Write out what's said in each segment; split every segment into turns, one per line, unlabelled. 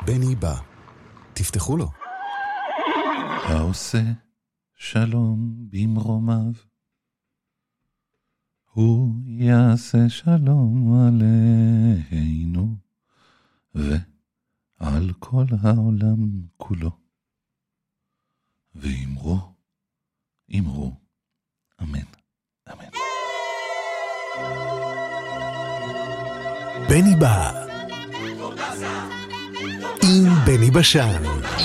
בני בא. תפתחו לו.
העושה שלום במרומיו, הוא יעשה שלום עלינו ועל כל העולם כולו. ואמרו, אמרו, אמן, אמן.
בני בא. עם בני בשן.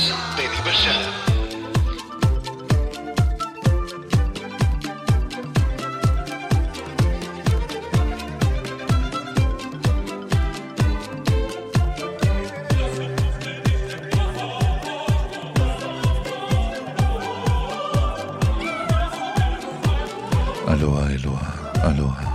אלוהה, אלוהה, אלוהה.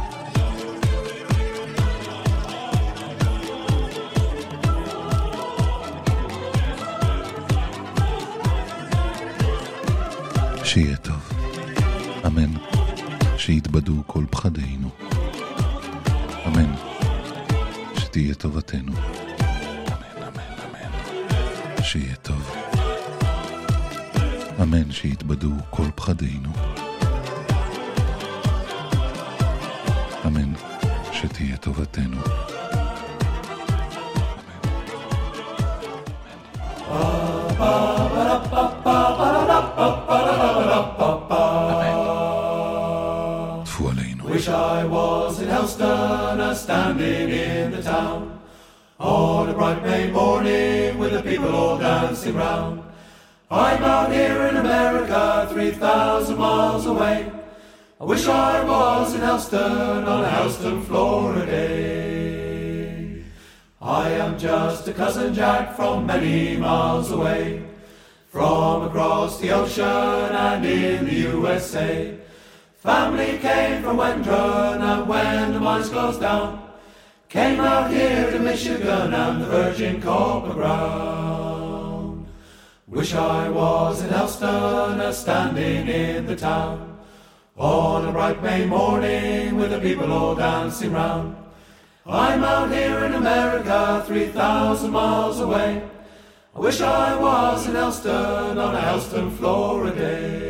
שיהיה טוב, אמן. שיתבדו כל פחדינו, אמן. שתהיה טובתנו, אמן, אמן, אמן. שיהיה טוב, אמן. שיתבדו כל פחדינו, אמן. שתהיה טובתנו, טפו עלינו.
Wish I was in Helston, standing in the town, on a bright May morning with the people all dancing round. I'm out here in America, 3,000 miles away. I wish I was in Helston on a Helston, Florida day. I am just a cousin Jack from many miles away, from across the ocean and in the USA. Family came from Wendron, and when the mines closed down, came out here to Michigan and the virgin copper ground. Wish I was in Helston, standing in the town, on a bright May morning with the people all dancing round. I'm out here in America, 3,000 miles away. I wish I was in Helston on a Helston, Florida day.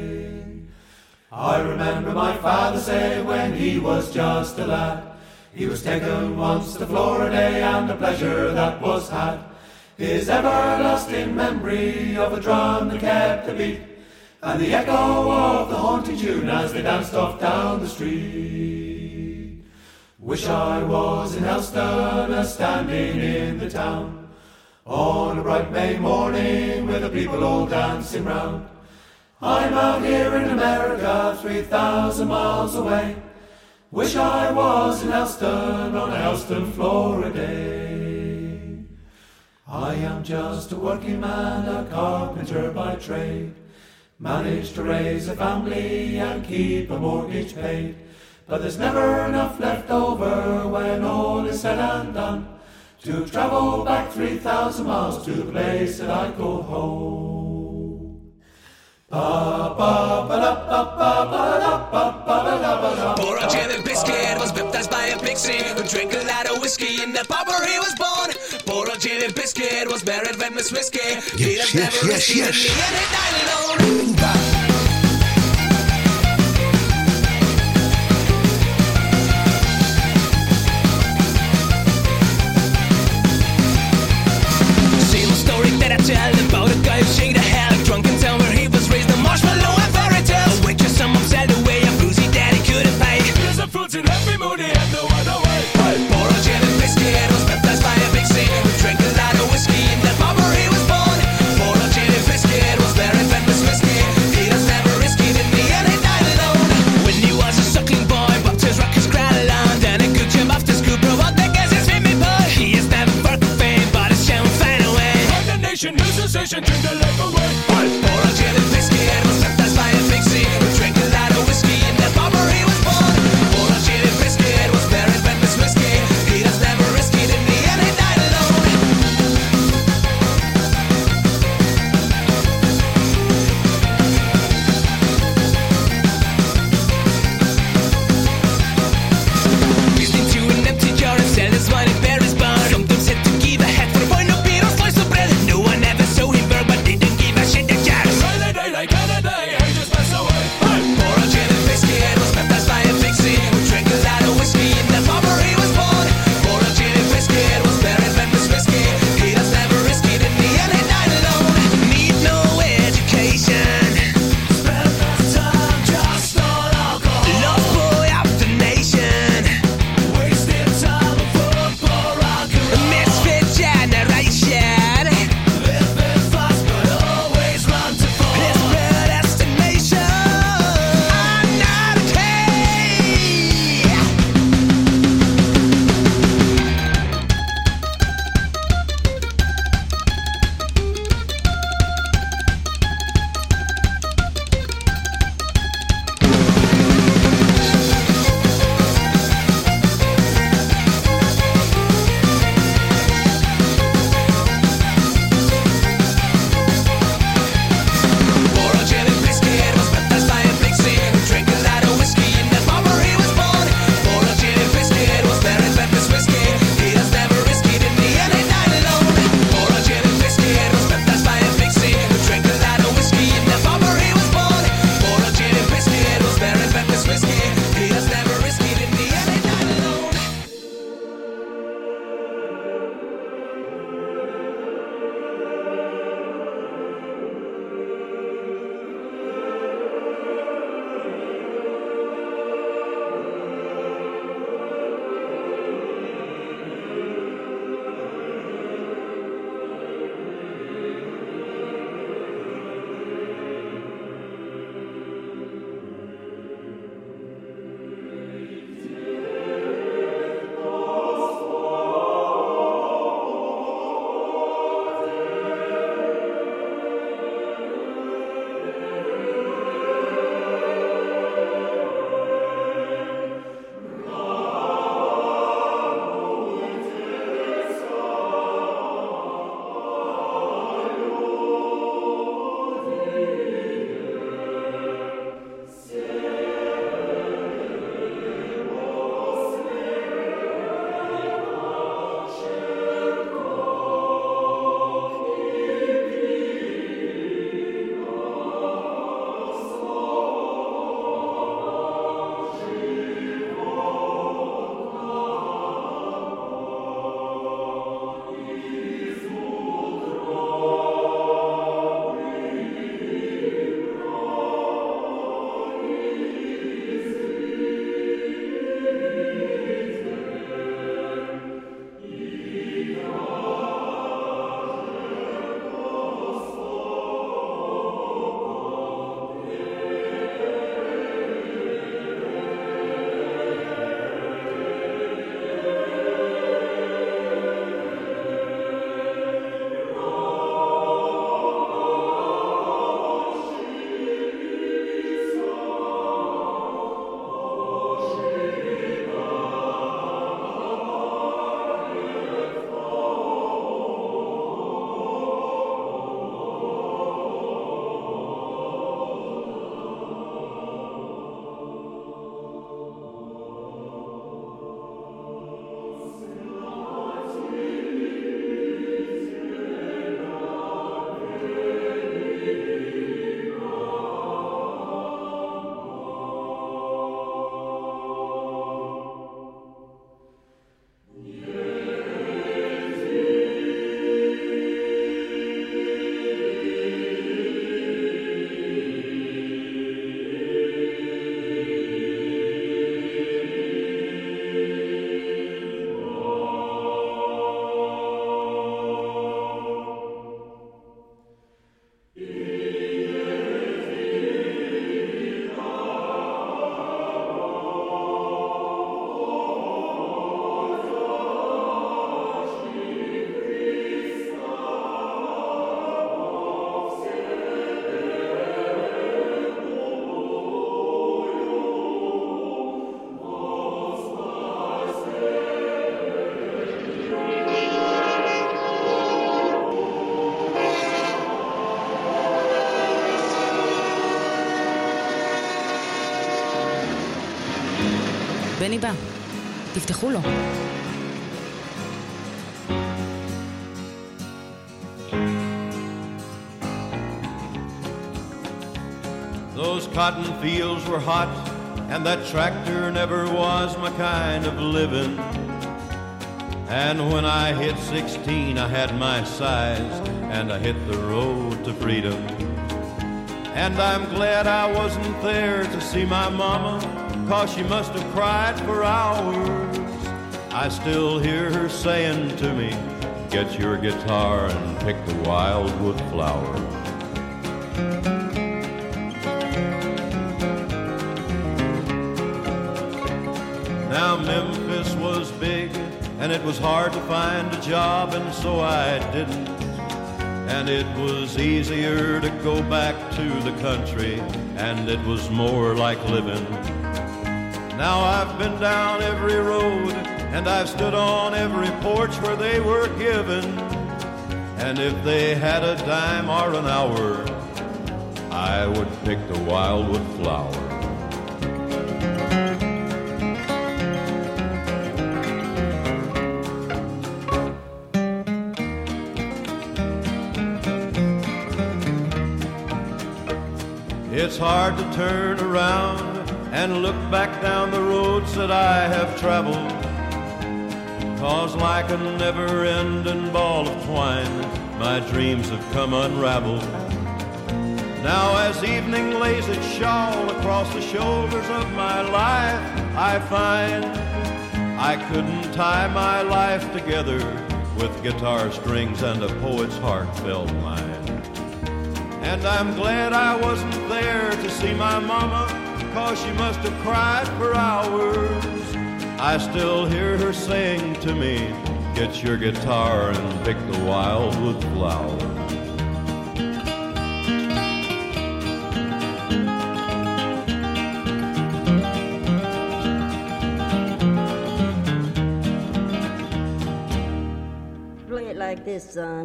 I remember my father say when he was just a lad, he was taken once to Florida and the pleasure that was had. His everlasting memory of a drum that kept the beat, and the echo of the haunting tune as they danced off down the street. Wish I was in Helston, standing in the town, on a bright May morning with the people all dancing round. I'm out here in America, 3,000 miles away. Wish I was in Helston on a Helston, Florida day. I am just a working man, a carpenter by trade. Managed to raise a family and keep a mortgage paid. But there's never enough left over when all is said and done to travel back 3,000 miles to the place that I call home.
Poor old Jimmy Biscuit was baptized by a pixie who drank a lot of whiskey in the pub where he was born. Poor old Jimmy Biscuit was buried with Miss Whiskey. He was never whiskey in the end he died alone. Same story that I tell about a guy who shake the hell drunk and tell where he was raised a marshmallow and fairy tales. A waitress some said away a boozy daddy couldn't pay. Here's some fruits in every mood he had no other way. Poor old Jimmy Biscuit was baptized by a pixie who drank a lot of whiskey in the pub where he was born. Poor old Jimmy Biscuit was buried with Miss Whiskey. He
בני בא. תפתחו לו.
Those cotton fields were hot, and that tractor never was my kind of living. And when I hit 16, I had my size, and I hit the road to freedom. And I'm glad I wasn't there to see my mama, 'cause she must have cried for hours. I still hear her saying to me, get your guitar and pick the wildwood flower. Now Memphis was big, and it was hard to find a job, and so I didn't. And it was easier to go back to the country, and it was more like living. Now I've been down every road, and I've stood on every porch where they were given. And if they had a dime or an hour, I would pick the wildwood flower. It's hard to turn around and look back down the roads that I have traveled, 'cause like a never-ending ball of twine, my dreams have come unraveled. Now as evening lays its shawl across the shoulders of my life, I find I couldn't tie my life together with guitar strings and a poet's heartfelt line. And I'm glad I wasn't there to see my mama, 'cause she must have cried for hours. I still hear her saying to me, get your guitar and pick the wildwood flower.
Play it like this, son.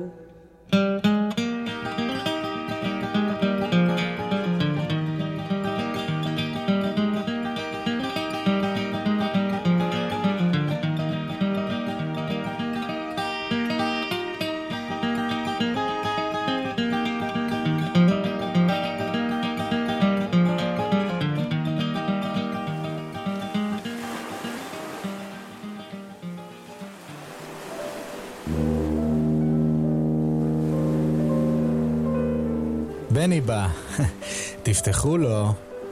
בני בא. תפתחו לו.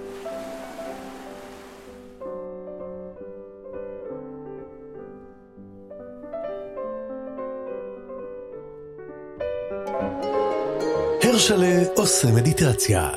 הרשלה עושה מדיטציה.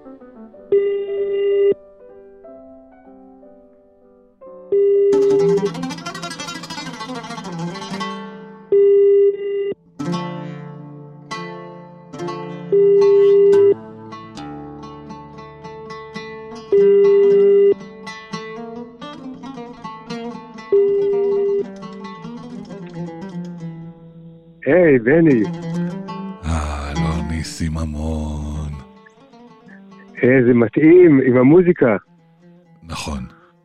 היי, בני.
לא, ניסים המון.
זה מתאים עם המוזיקה.
נכון.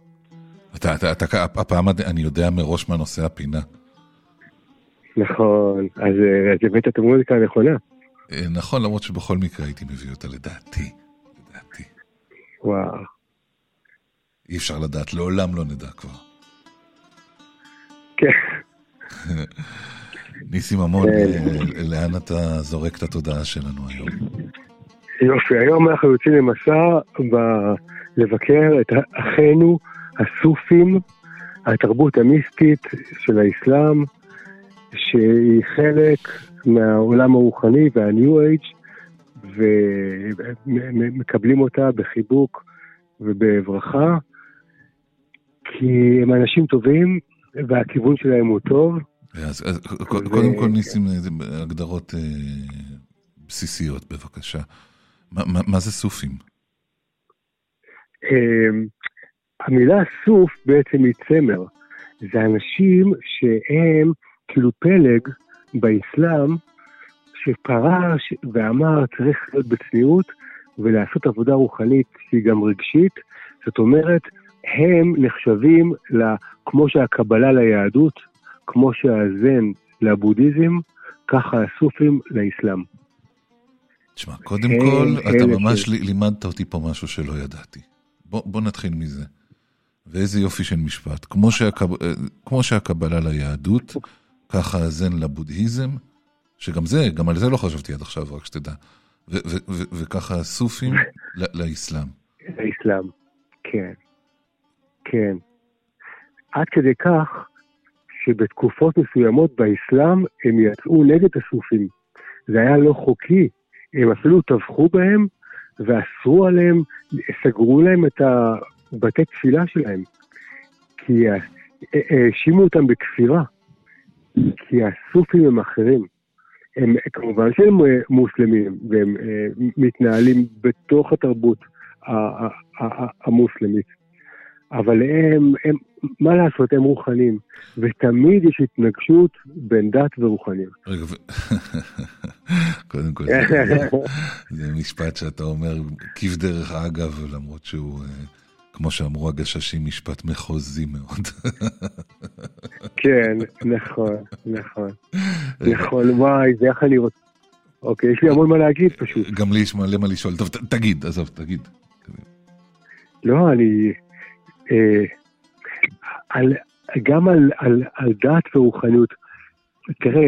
הפעם אני יודע מראש מה נושא הפינה.
נכון, אז הבאת את המוזיקה הנכונה.
נכון, למרות שבכל מקרה הייתי מביא אותה לדעתי.
וואו.
אי אפשר לדעת, לעולם לא נדע כבר.
כן.
ניסים המון, לאן אתה זורק את התודעה שלנו היום?
יופי, היום אנחנו יוצאים למסע לבקר את אחינו הסופים, התרבות המיסטית של האסלאם, שהיא חלק מהעולם הרוחני והניו אייג', ומקבלים אותה בחיבוק ובברכה, כי הם אנשים טובים והכיוון שלהם הוא טוב.
אז קודם כל ניסים הגדרות בסיסיות בבקשה. מה זה סופים?
המילה סוף בעצם היא צמר. זה אנשים שהם כאילו פלג באסלאם שפרש ואמר צריך להיות בצניעות ולעשות עבודה רוחנית שהיא גם רגשית. זאת אומרת, הם נחשבים, כמו שהקבלה ליהדות, כמו שהזן לבודהיזם, ככה הסופים לאסלאם.
תשמע, קודם כל, אתה ממש לימדת אותי פה משהו שלא ידעתי. בוא נתחיל מזה. ואיזה יופי של משפט. כמו שהקבלה ליהדות, ככה הזן לבודהיזם, שגם זה, גם על זה לא חשבתי עד עכשיו, רק שתדע. וככה הסופים לאסלאם.
לאסלאם, כן. כן. עד כדי כך, שבתקופות מסוימות באסלאם, הם יצאו נגד הסופים. זה היה לא חוקי. הם אפילו טבחו בהם, ואסרו עליהם, סגרו להם את בתי תפילה שלהם. כי האשימו אותם בכפירה. כי הסופים הם אחרים. הם כמובן שהם מוסלמים, והם מתנהלים בתוך התרבות המוסלמית. אבל הם, מה לעשות, הם רוחנים, ותמיד יש התנגשות בין דת ורוחניות.
רגע, קודם כל, זה משפט שאתה אומר, כיף דרך אגב, למרות שהוא, כמו שאמרו הגששים, משפט מחוזי מאוד.
כן, נכון, נכון. נכון, וואי, זה איך אני רוצה. אוקיי, יש לי המון מה להגיד פשוט.
גם לי יש מלא מה לשאול. טוב, תגיד, עזוב, תגיד.
לא, אני... גם על דת ורוחניות, תראה,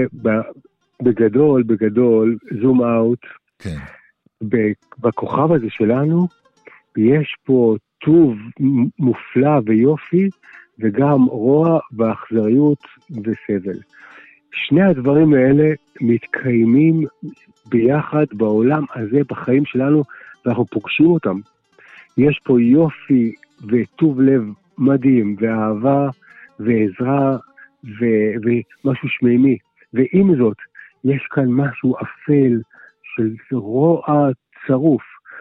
בגדול, זום אאוט,
כן.
בכוכב הזה שלנו, יש פה טוב מופלא ויופי, וגם רוע ואכזריות וסבל. שני הדברים האלה מתקיימים ביחד בעולם הזה, בחיים שלנו, ואנחנו פוגשים אותם. יש פה יופי וטוב לב מדהים, ואהבה ועזרה ומשהו שמימי. ועם זאת, יש כאן משהו אפל של רוע צרוף,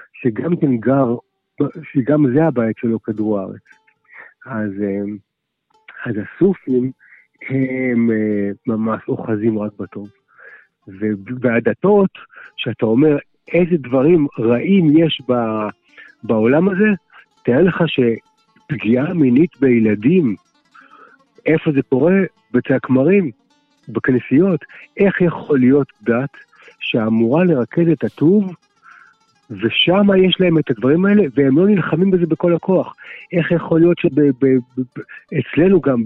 שגם זה הבית שלו כדור הארץ. אז הסופים הם ממש אוחזים רק בטוב. והדתות, שאתה אומר איזה דברים רעים יש בעולם הזה, תראה לך שפגיעה מינית בילדים, איפה זה קורה? בתי הכמרים, בכנסיות. איך יכול להיות דת שאמורה לרכז את הטוב, ושם יש להם את הדברים האלה, והם לא נלחמים בזה בכל הכוח. איך יכול להיות שאצלנו גם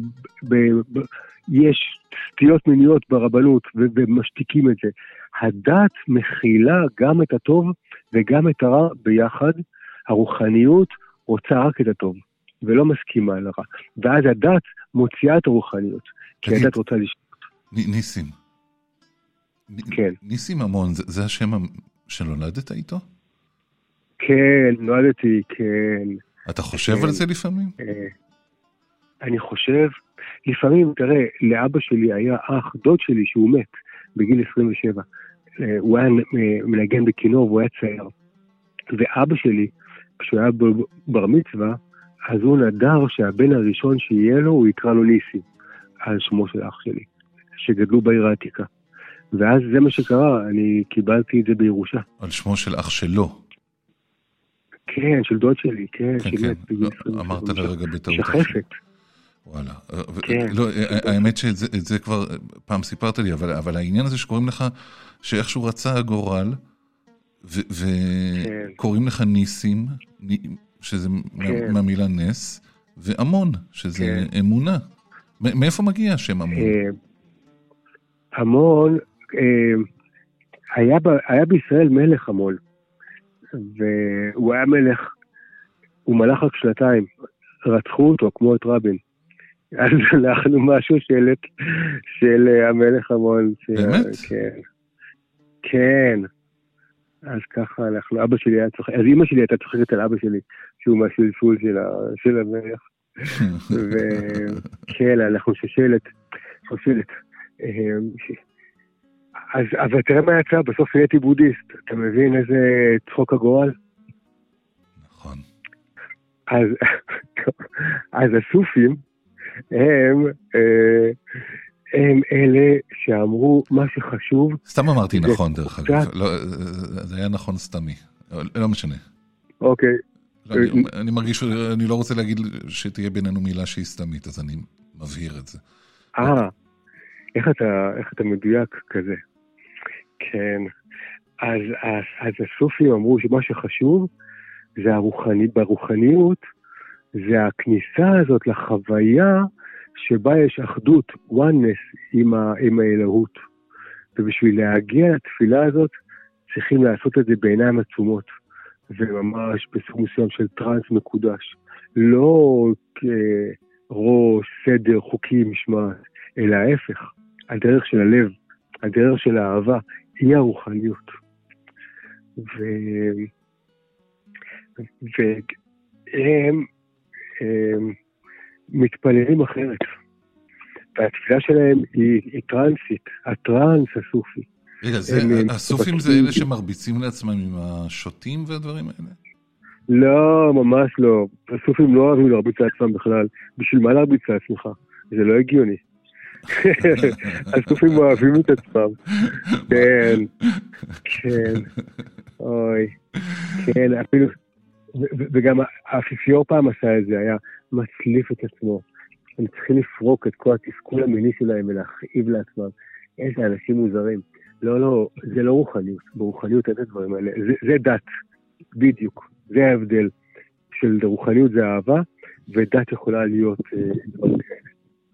יש סטיות מיניות ברבנות, ומשתיקים את זה. הדת מכילה גם את הטוב, וגם את הרע ביחד. הרוחניות רוצה רק את הטוב, ולא מסכימה על הרע. ואז הדת מוציאה את הרוחניות, כי הדת רוצה לשתות.
ניסים.
כן.
ניסים המון, זה השם שנולדת איתו?
כן, נולדתי, כן.
אתה חושב על זה לפעמים?
אני חושב, לפעמים, תראה, לאבא שלי היה אח, דוד שלי שהוא מת בגיל 27. הוא היה מנגן בכינור והוא היה צייר. ואבא שלי, כשהוא היה בר מצווה, אז הוא נדר שהבן הראשון שיהיה לו, הוא יקרא לו ניסים, על שמו של אח שלי, שגדלו בעיר העתיקה. ואז זה מה שקרה, אני קיבלתי את זה בירושה.
על שמו של אח שלו?
כן, של דוד שלי, כן.
אמרת לרגע בטעות.
שחפת.
וואלה. האמת שאת זה כבר פעם סיפרת לי, אבל העניין הזה שקוראים לך, שאיכשהו רצה הגורל, וקוראים לך ניסים, שזה מהמילה נס, ואמון, שזה אמונה. מאיפה מגיע השם אמון?
אמון, היה בישראל מלך אמון, והוא היה מלך, הוא מלך רק 2, רצחו אותו כמו את רבין. אז אנחנו משהו של המלך אמון.
באמת?
כן. אז ככה אנחנו, אבא שלי היה צוחק, אז אמא שלי הייתה צוחקת על אבא שלי, שהוא מהשלשול של המלך. וכן, אנחנו שושלת. אבל תראה מה יצא, בסוף נהייתי בודהיסט. אתה מבין איזה צחוק הגורל?
נכון.
אז הסופים הם אלה שאמרו מה שחשוב.
סתם אמרתי נכון דרך אגב. זה היה נכון סתמי. לא משנה.
אוקיי.
אני מרגיש שאני לא רוצה להגיד שתהיה בינינו מילה שהיא סתמית, אז אני מבהיר את זה.
איך אתה מדויק כזה? כן. אז הסופים אמרו שמה שחשוב זה ברוחניות, זה הכניסה הזאת לחוויה שבה יש אחדות, oneness עם האלוהות. ובשביל להגיע לתפילה הזאת, צריכים לעשות את זה בעיניים עצומות, וממש בסוג מסוים של טרנס מקודש. לא כראש, סדר, חוקי, משמעת, אלא ההפך, הדרך של הלב, הדרך של האהבה, היא הרוחניות. והם מתפללים אחרת. והתפילה שלהם היא טרנסית, הטרנס הסופי.
רגע, הסופים זה אלה שמרביצים לעצמם עם השוטים והדברים האלה?
לא, ממש לא. הסופים לא אוהבים להרביץ לעצמם בכלל. בשביל מה להרביץ לעצמך? זה לא הגיוני. הסופים אוהבים את עצמם. כן, כן. אוי. כן, אפילו... וגם האפיפיור פעם עשה את זה, היה מצליף את עצמו. הם צריכים לפרוק את כל התסכול המיני שלהם ולהכאיב לעצמם. איזה אנשים מוזרים. לא, זה לא רוחניות. ברוחניות אין את הדברים האלה. זה דת, בדיוק. זה ההבדל של רוחניות זה אהבה, ודת יכולה להיות דברים כאלה.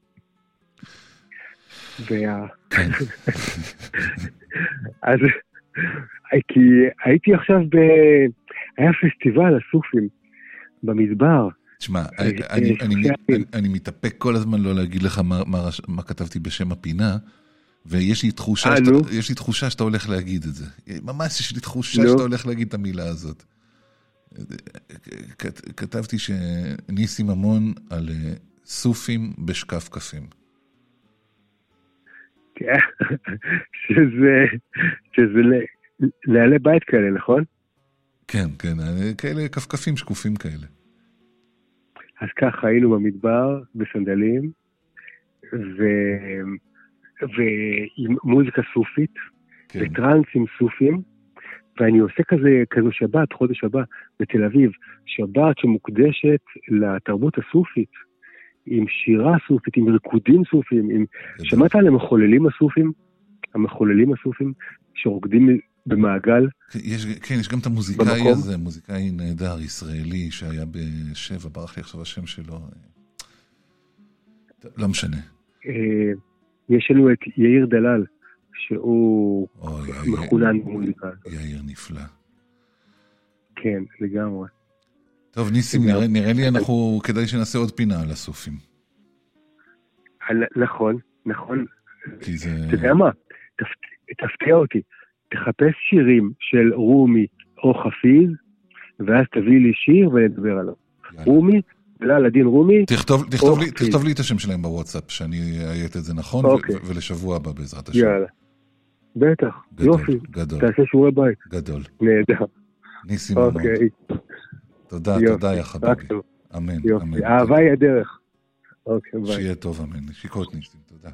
אז כי הייתי עכשיו היה פסטיבל הסופים במדבר.
תשמע, אני מתאפק כל הזמן לא להגיד לך מה כתבתי בשם הפינה, ויש לי תחושה שאתה הולך להגיד את זה. ממש יש לי תחושה שאתה הולך להגיד את המילה הזאת. כתבתי שניסים המון על סופים בשקף קפים.
שזה לעלי בית כאלה, נכון?
כן, כן, כאלה כפקפים שקופים כאלה.
אז ככה היינו במדבר, בסנדלים, ועם מוזיקה סופית, וטרנסים סופים, ואני עושה כזו שבת, חודש הבא, בתל אביב, שבת שמוקדשת לתרבות הסופית, עם שירה סופית, עם ריקודים סופיים, שמעת על המחוללים הסופים? המחוללים הסופים שרוקדים במעגל?
כן, יש גם את המוזיקאי הזה, מוזיקאי נהדר, ישראלי, שהיה בשבע, ברח לי עכשיו השם שלו. לא משנה.
יש לנו את יאיר דלל, שהוא מחולן במוזיקה.
יאיר נפלא.
כן, לגמרי.
טוב, ניסים, נראה לי כדאי שנעשה עוד פינה על הסופים.
נכון, נכון. אתה יודע מה? תפתיע אותי. תחפש שירים של רומי או חפיז, ואז תביא לי שיר ונדבר עליו. רומי, בלל הדין רומי.
תכתוב לי את השם שלהם בוואטסאפ, שאני אייט את זה נכון, ולשבוע הבא בעזרת השם.
יאללה. בטח, יופי.
גדול.
תעשה שיעורי בית.
גדול.
נהדר.
ניסים המון. תודה, תודה יא חביבי. אמן, אמן.
אהבה היא הדרך.
שיהיה טוב, אמן. שיקות ניסים, תודה.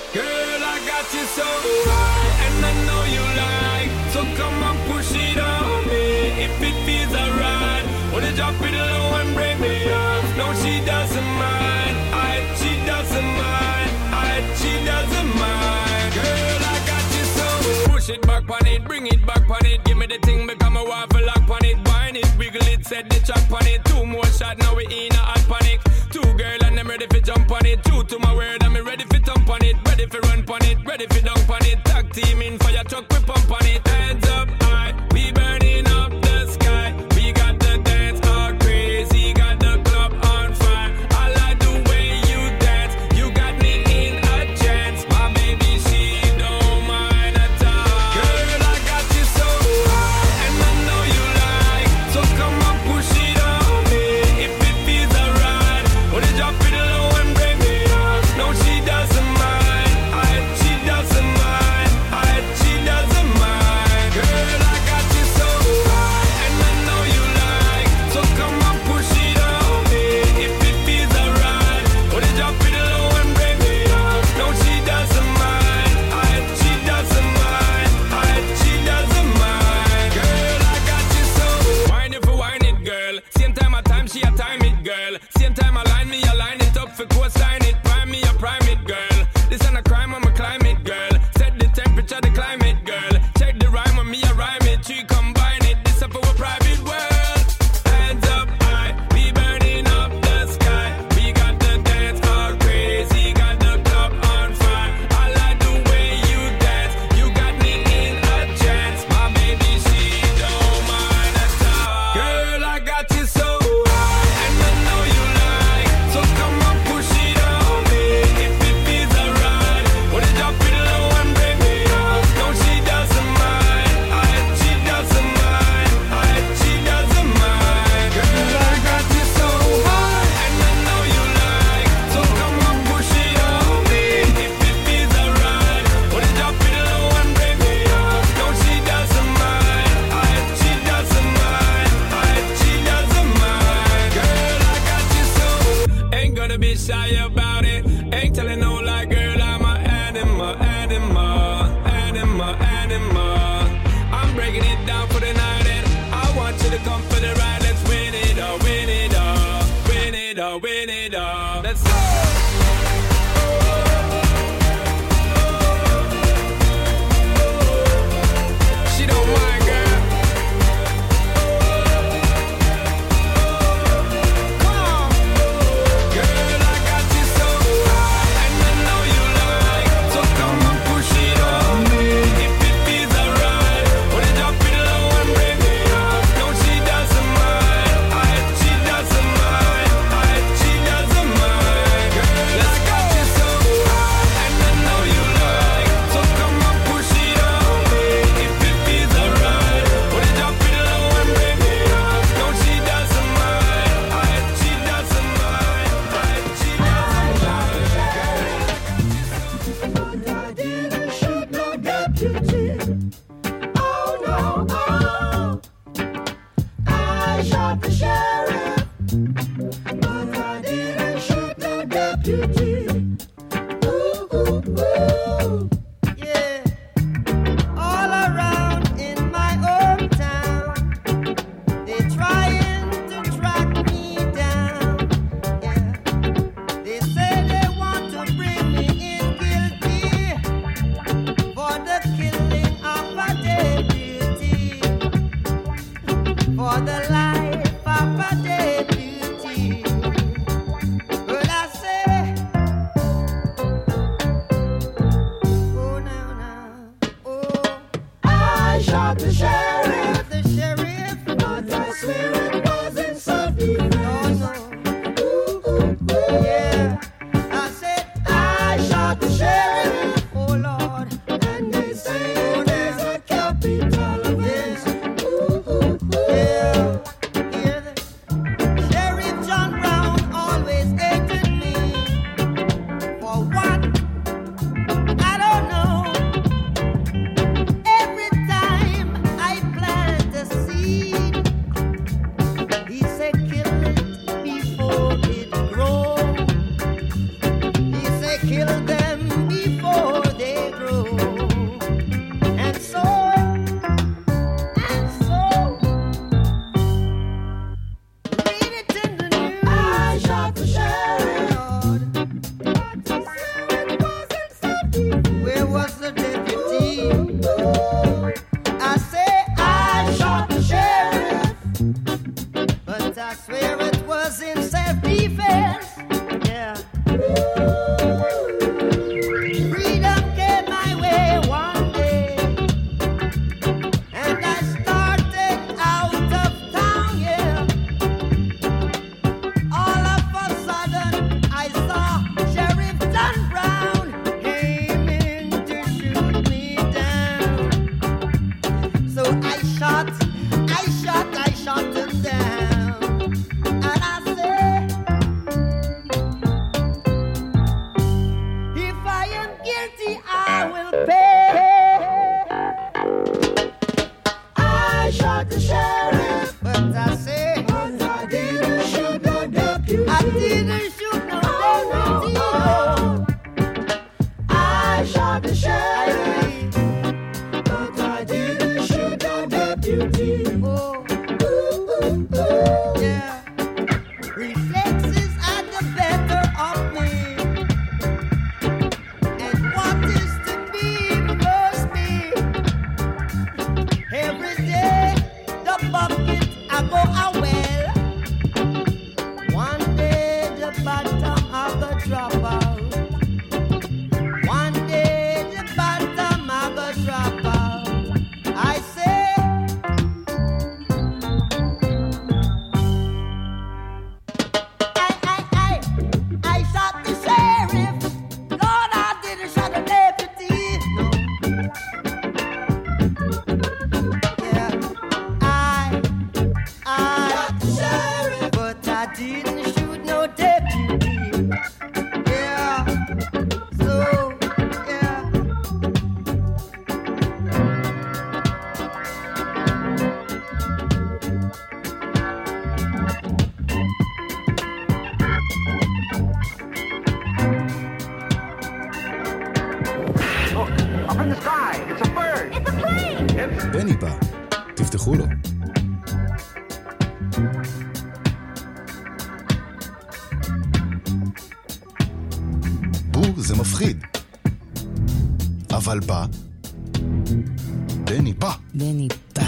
Girl, I got you so high, and I know you like. So come and push it on me, if it feels alright. Wanna drop it low and bring me up. No, she doesn't mind. She doesn't mind. She doesn't mind. Girl, I got you so. Push it back on it, bring it back on it. Give me the thing, become a waffle lock on it. Wine it, wiggle it, set the track on it. 2 more shots, now we in a hot panic. 2 girl and I'm ready for jump on it. 2 to my word, I'm ready for thump on it. Ready for run on it, ready for dunk on it. Tag team in fire truck, we pump on it. Hands up high, we burning up the sky. We got the dance all crazy, got the club on fire. I like the way you dance, you got me in a trance. My baby, she don't mind at all. Girl, I got you so high, and I know you like. So come on, push it on me, if it feels alright. Wanna drop it low and bring me up. No, she doesn't mind. She doesn't mind. She doesn't mind. Girl, I got you so high, and I know you like. So come on, push it on me, if it feels alright. Wanna drop it low and bring me up. No, she doesn't mind. She doesn't mind. She doesn't mind. Girl, I got you so. Wine it for wine it, girl. Same time I time, she a time it, girl. Same time I line me, I line it up for cosign it. Prime me, I prime it, girl. This ain't a crime, I'm a climate, girl. Set the temperature, the climate, girl. Check the rhyme on me, I rhyme it. She combine it, this up for a private world. Hands up high, we burning up the sky. We got the dance all crazy, got the club on fire. I like the way you dance, you got me in a trance. My baby, she don't mind at all. Girl, I got you so high, and I know you like. So come on, push it on me, if it feels alright. Wanna drop it low and bring me up. No, she doesn't mind. She doesn't mind. She doesn't mind. Girl, I got you so high, and I know you like. So come on, push it on me, if it feels alright. Wanna drop it low and bring me up. No, she doesn't mind. She doesn't mind. She doesn't mind. Girl, I got you so. Ain't gonna be shy about it. Ain't telling no lie, girl, I'm a animal, animal, animal, animal. I'm breaking it down for the night, and I want you to come for the ride. Let's win it all, win it all, win it all, win it all. Let's go. She don't mind, girl. Come on. Girl, I got you so high, and I know you like. So come on, push it on me, if it feels alright. Wanna drop it low and bring me up. No, she doesn't mind. She doesn't mind. She doesn't mind. Girl, I got you so high, and I know you like. So come on, push it on me, if it feels alright. Wanna drop it low and bring me up. No, she doesn't mind. She doesn't mind. She doesn't mind.
But I didn't shoot no deputy. Oh no, oh. I shot the sheriff, but I didn't shoot no deputy. Ooh, ooh, ooh. Yeah. All around in my hometown, they trying to track me down. Yeah. They say they want to bring me in guilty for the killing of a deputy, for the life of a deputy. But I say, oh now, oh, I shot the sheriff, but I swear it wasn't self-defense. Ooh, ooh, ooh. Yeah, I said I shot the sheriff, oh Lord, and they say there's a capital offense. Ooh, ooh, ooh. Yeah, hear this? Sheriff John Brown always hated me. For what? I don't know. Every time I plant a seed, he said kill it before it grows. He said kill them before
I shot the sheriff, but I didn't shoot the deputy. Yeah. Reflexes are the better of me, and what is to be must be. Every day the bucket I go a well. One day the bottom I go drop out. One day the bottom I go drop out. I say I shot the sheriff. Lord, I didn't shot the deputy. No. Yeah, I shot the sheriff, but I didn't shoot no deputy. Yeah, so yeah.
Up in the sky, it's a bird.
It's a plane.
בני בא, תפתחו לו. זה מפחיד. אבל בא. בני בא.
בני בא.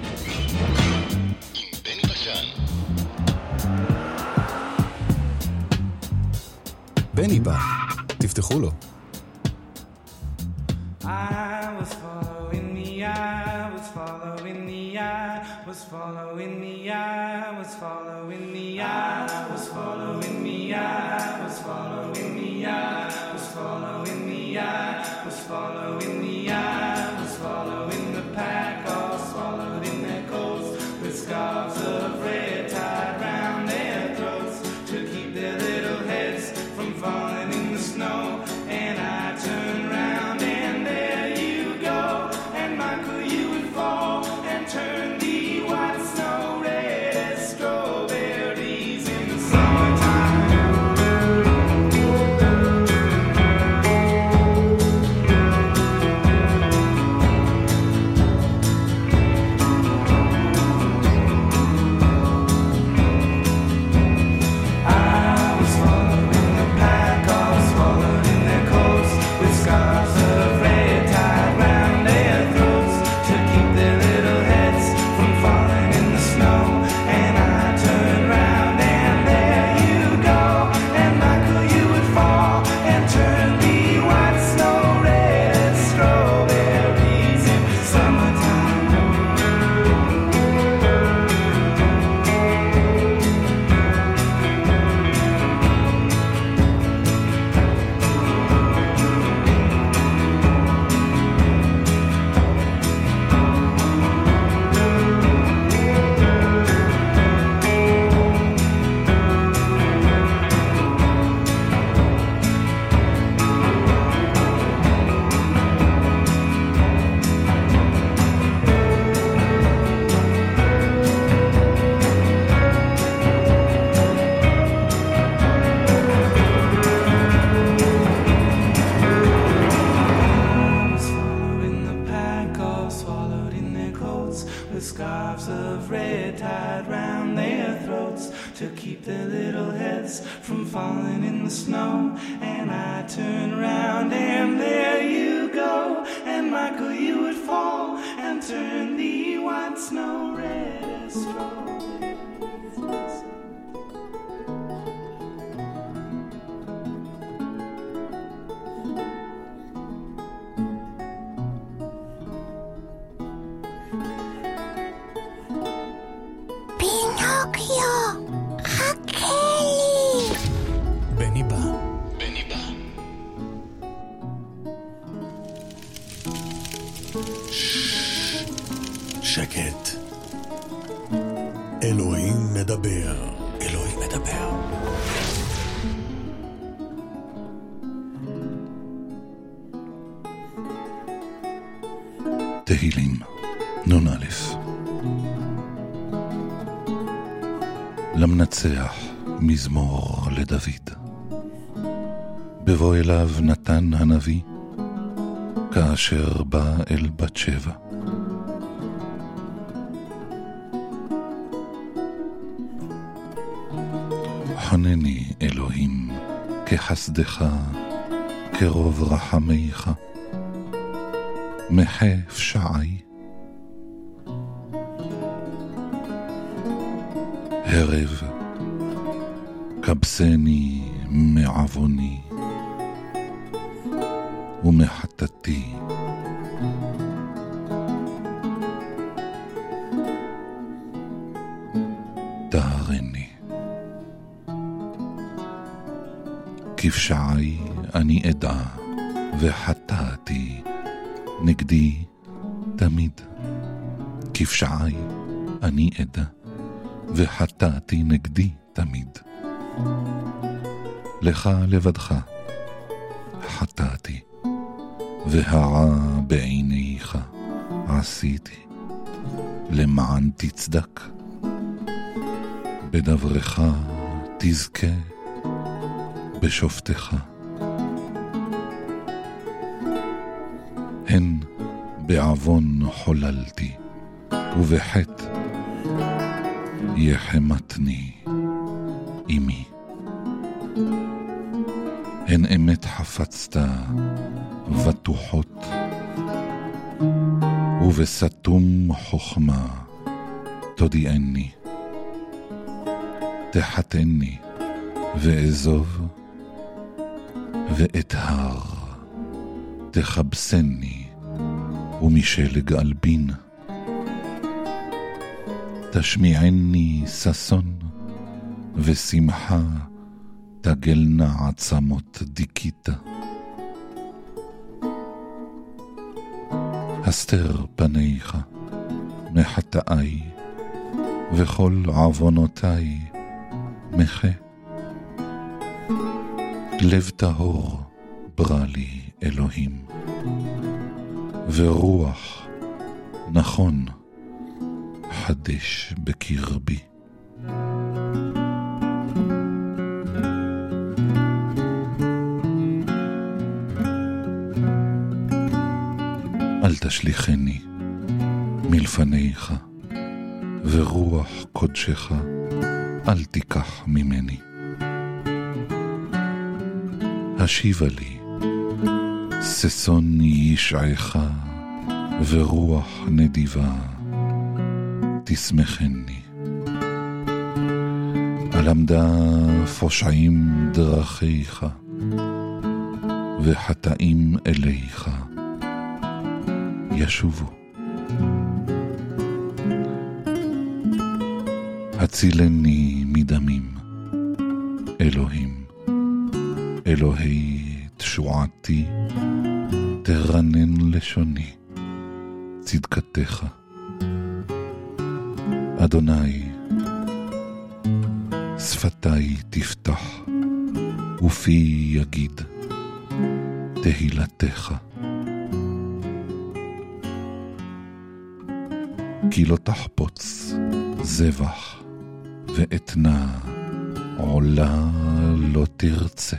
עם בני בשן. בני בא, תפתחו לו.
I was following the eye, was following the eye, was following the eye, was following the eye, was following the eye, was following the eye, was following the eye, was following the eye, was following the pack, all swallowed in their coats, with scarves of red tied round their throats to keep their little heads from falling in the snow. And I turned round and there you go, and Michael, you would fall and turn the white snow red as strawberries in the summertime.
שקט. אלוהים מדבר. אלוהים מדבר.
תהילים, נון א'. למנצח מזמור לדוד. בבוא אליו נתן הנביא, כאשר בא אל בת שבע. חונני אלוהים כחסדך, כרוב רחמיך, מחה פשעי. הרב כבסני מעווני ומחטאתי. טהרני. כפשעי אני אדע, וחטאתי נגדי תמיד. כפשעי אני אדע, וחטאתי נגדי תמיד. לך לבדך חטאתי, והרע בעיניך עשיתי, למען תצדק. בדברך תזכה, בשופטך. הן בעוון חוללתי, ובחטא יחמתני אמי. הן אמת חפצת בטוחות, ובסתום חוכמה תודיעני. תחתני ואזוב, ואתהר תחבסני, ומשלג אלבין. תשמיעני ששון, ושמחה תגלנה עצמות דיכית. הסתר פניך מחטאי, וכל עוונותיי מחה. לב טהור ברא לי אלוהים, ורוח נכון חדש בקרבי. אל תשליחני מלפניך, ורוח קודשך אל תיקח ממני. השיבה לי ששון ישעך, ורוח נדיבה תשמחני. למדה פושעים דרכיך, וחטאים אליך ישובו. הצילני מדמים, אלוהים, אלוהי תשועתי, תרנן לשוני צדקתך. אדוני, שפתי תפתח, ופי יגיד תהילתך. כי לא תחפוץ זבח, ואתנה עולה לא תרצה.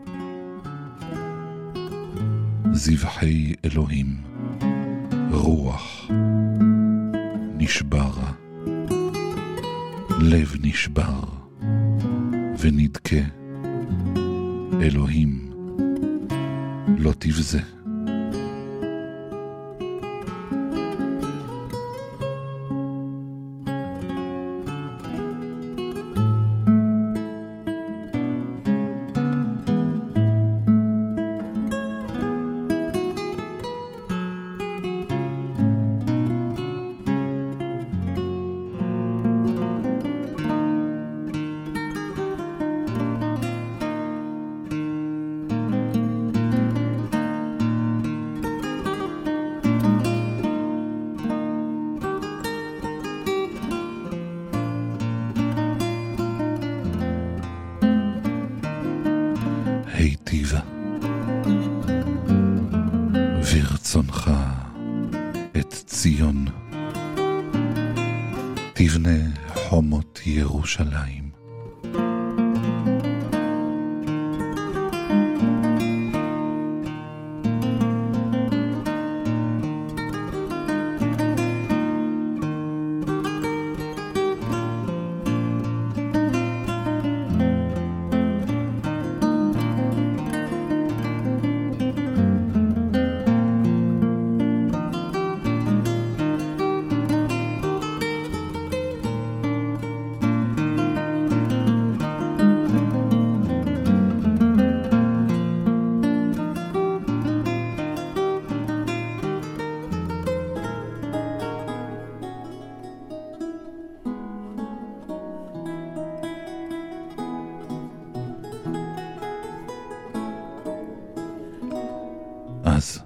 זבחי אלוהים רוח נשברה, לב נשבר ונדכה. אלוהים לא תבזה. היטיבה ורצונך את ציון, תבנה חומות ירושלים. אז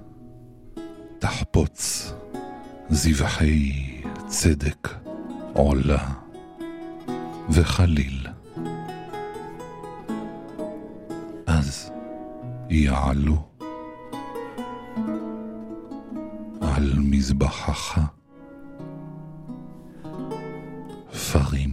תחפוץ זבחי צדק עולה וחליל, אז יעלו על מזבחך פרים.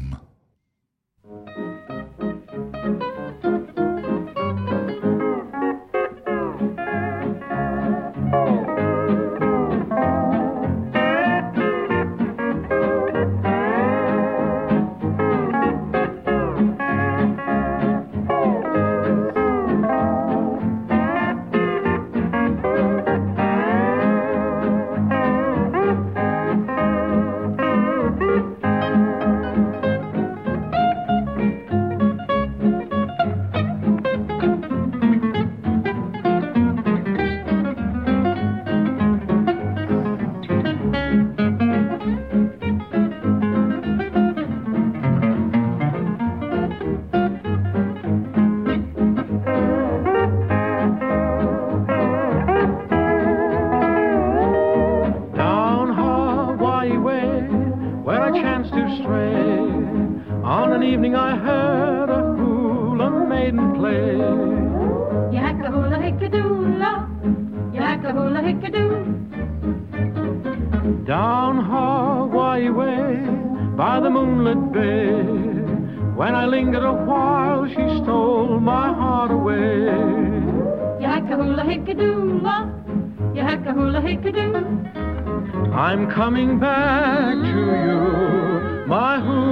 I'm coming back to you, my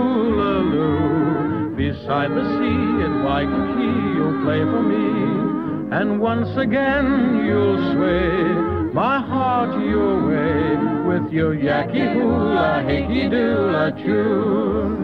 hula-loo. Beside the sea at Waikiki you'll play for me, and once again you'll sway my heart your way with your yaki hula hickey doula tune.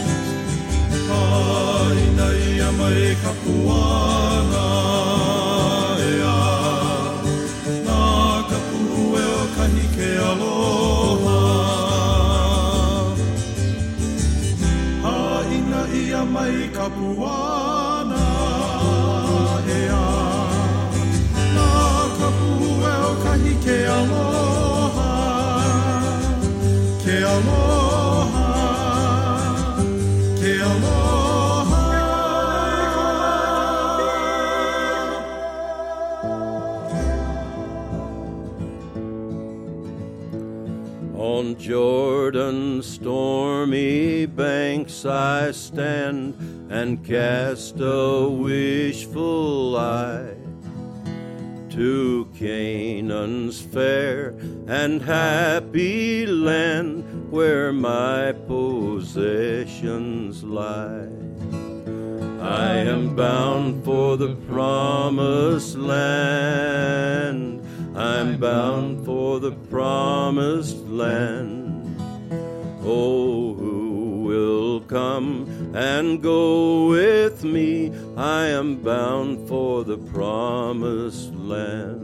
Kapuana
On Jordan's stormy banks I stand and cast a wishful eye to Canaan's fair and happy land where my possessions lie. I am bound for the promised land. I'm bound for the promised land. Oh, who will come and go with me? I am bound for the promised land.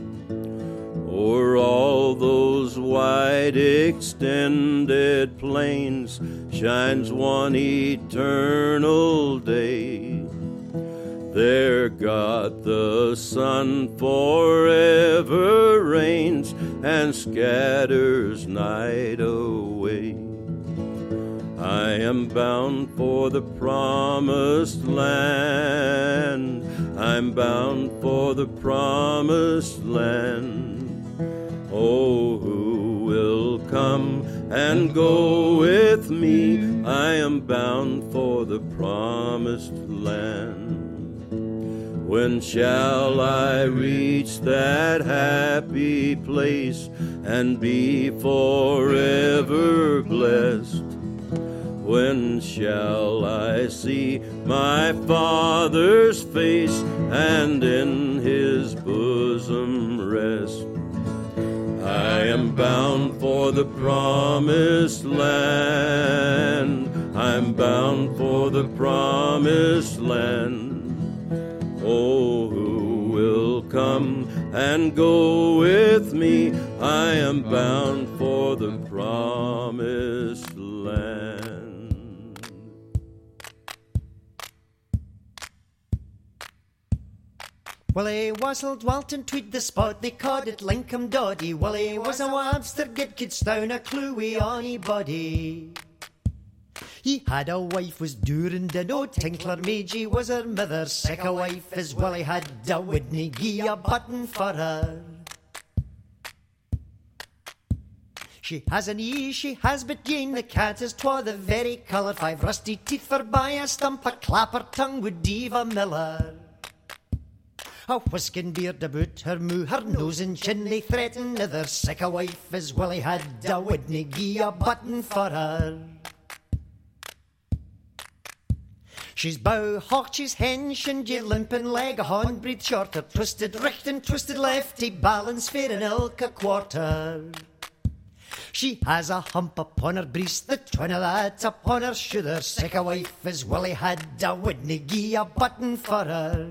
O'er all those wide extended plains shines one eternal day. There God the Son forever reigns and scatters night away. I am bound for the promised land. I'm bound for the promised land. Oh, who will come and go with me? I am bound for the promised land. When shall I reach that happy place and be forever blessed? When shall I see my Father's face and in his bosom rest? I am bound for the promised land. I'm bound for the promised land. Oh, who will come and go with me? I am bound for the promised land.
Willie Wassell dwelt and tweed the spot, they called it Lincoln Doddy. Willie was a wabster, get kids down a clue wi' onybody. He had a wife was Durand and old Tinkler Meiji was her mother. Sick a wife as Willie had a wouldn't gie a button for her. She has an ee, she has but Jane, the cat is twa the very colour. 5 rusty teeth for by a stump, a clapper tongue would Diva Miller. A whiskin beard about her moo, her nose and chin they threaten other. Sick a wife as Willie had a wouldn't gie a button for her. She's bow hawk, she's hench, and ye limpin' leg a horn breathe shorter. Twisted richt and twisted left, he balance fair in ilk a quarter. She has a hump upon her breast, the twin of that upon her shoulder. Sick a wife as Willie had a wouldn't gie a button for her.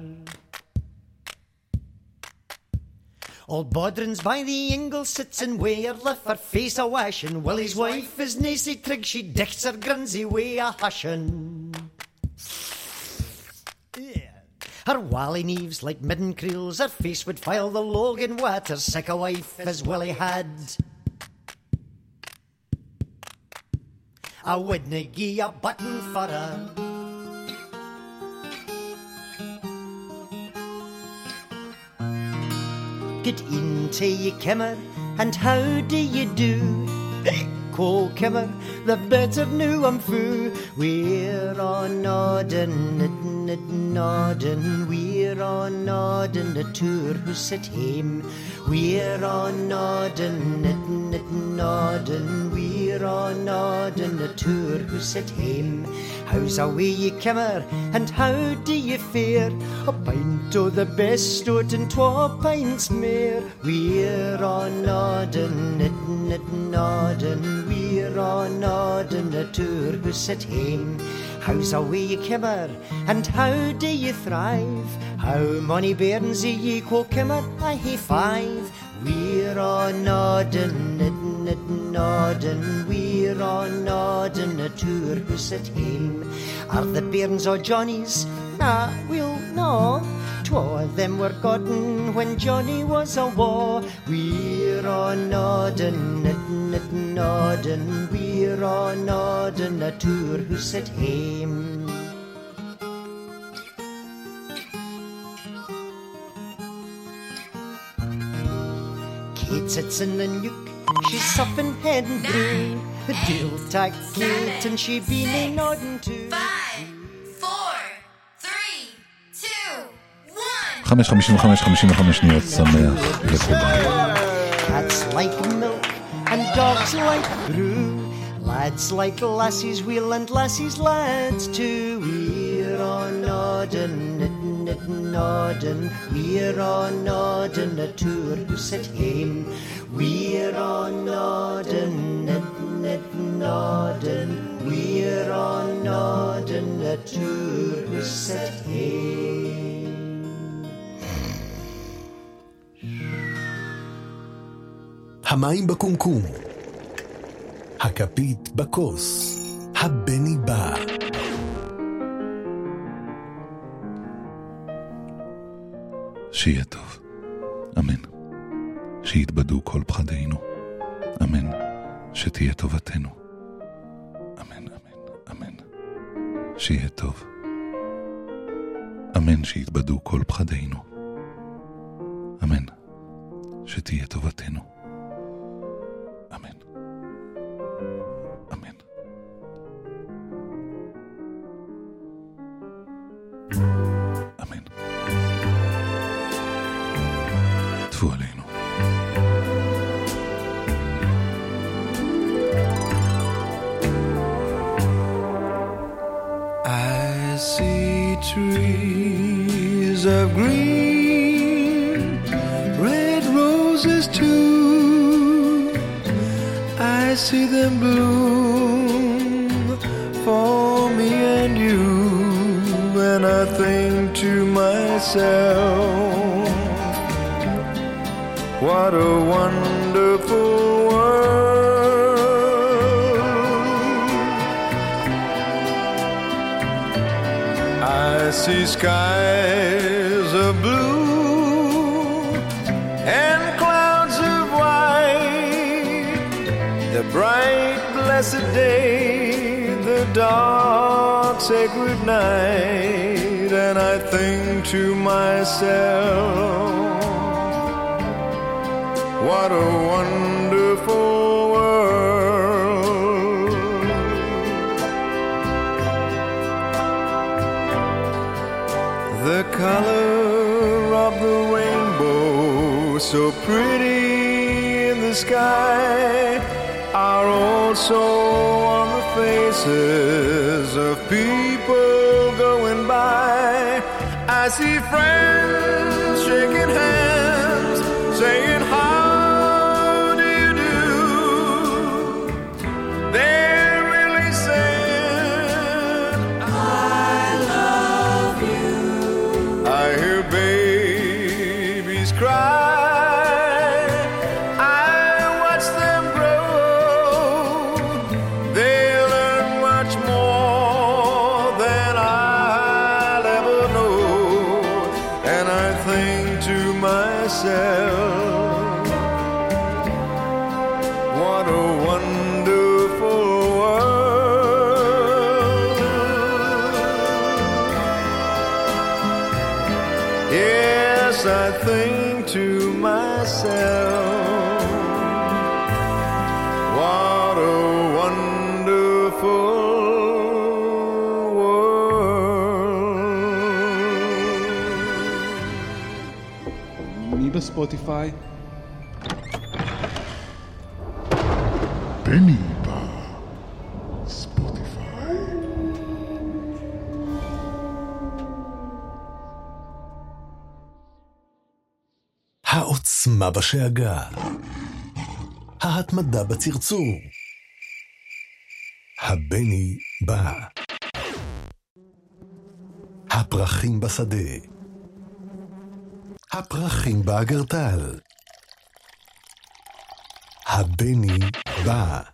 Old Bodrin's by the ingle sits and wear her lift her face a washin'. Willie's wife is nacy trig, she dichts her grunsy way a hushin'. Her wally neaves like midden creels, her face would file the log in water. Sick a wife as Willie had I wouldn't gie a button for her. Good e'en to ye, Kimmer, and how do ye do? Call Kimmer, the better new I'm foo. We're on noddin', noddin', we're on noddin' the tour who sit hame. We're on noddin', noddin', we're on noddin' the tour who sit hame. How's away ye, Kimmer, and how do ye fare? A pint o' the best o't and 2 pints mair. We're on noddin', noddin', we're on noddin' the tour who sit hame. How's away ye, Kimmer, and how do ye thrive? How mony bairns ye call Kimmer? I hae 5. We're on noddin', noddin', we're on noddin' the tour who sit hame. Are the bairns o' Johnny's? Nah, well, no. 2 of them were gotten when Johnny was awa'. We're on noddin', noddin', we're on noddin' the tour who sit hame. Kate sits in the nook, she's sopping head and brew. Dill tack kilt and she be nae nodding to.
5, 4, 3, 2, 1.
5:55 שניות, שמח לכולם.
Cats like milk and dogs like brew. Lads like lassies wheel and lassies lads too. We're on noddin', knittin', noddin'. We're on noddin' a tour who sit hame. We're on noddin', knittin', noddin'. We're on noddin' a tour who sit hame.
המים בקומקום, הכפית בכוס, הבני בא.
שיהיה טוב, אמן. שיתבדו כל פחדינו, אמן. שתהיה טובתנו, אמן, אמן, אמן. שיהיה טוב, אמן. שיתבדו כל פחדינו, אמן. שתהיה טובתנו, אמן, אמן. אמן. טפו עלינו.
I see trees of green, red roses too. I see them bloom for me and you, and I think to myself, what a wonderful world. I see skies of blue and clouds of white, the bright blessed day, the dark sacred night, and I think to myself, what a wonderful world. The color of the rainbow, so pretty in the sky, are also on the faces of people going by. I see friends shaking hands, saying how do you do. They're really saying I love you. I hear babies cry, I watch them grow. They learn much more than I'll ever know, and I think to myself, what a wonderful world. Yes, I think to myself, what a wonderful world.
מי בספוטיפיי?
בני בא. ספוטיפיי. העוצמה בשאגה. ההתמדה בצרצור. הבני בא. הפרחים בשדה. הפרחים באגרטל. הבני בא.